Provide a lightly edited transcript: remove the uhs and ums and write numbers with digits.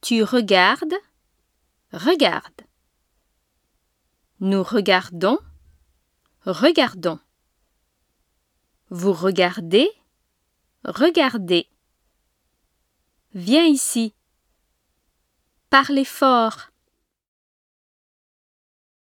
Tu regardes, regarde. Nous regardons, regardons. Vous regardez, regardez. Viens ici. Parlez fort.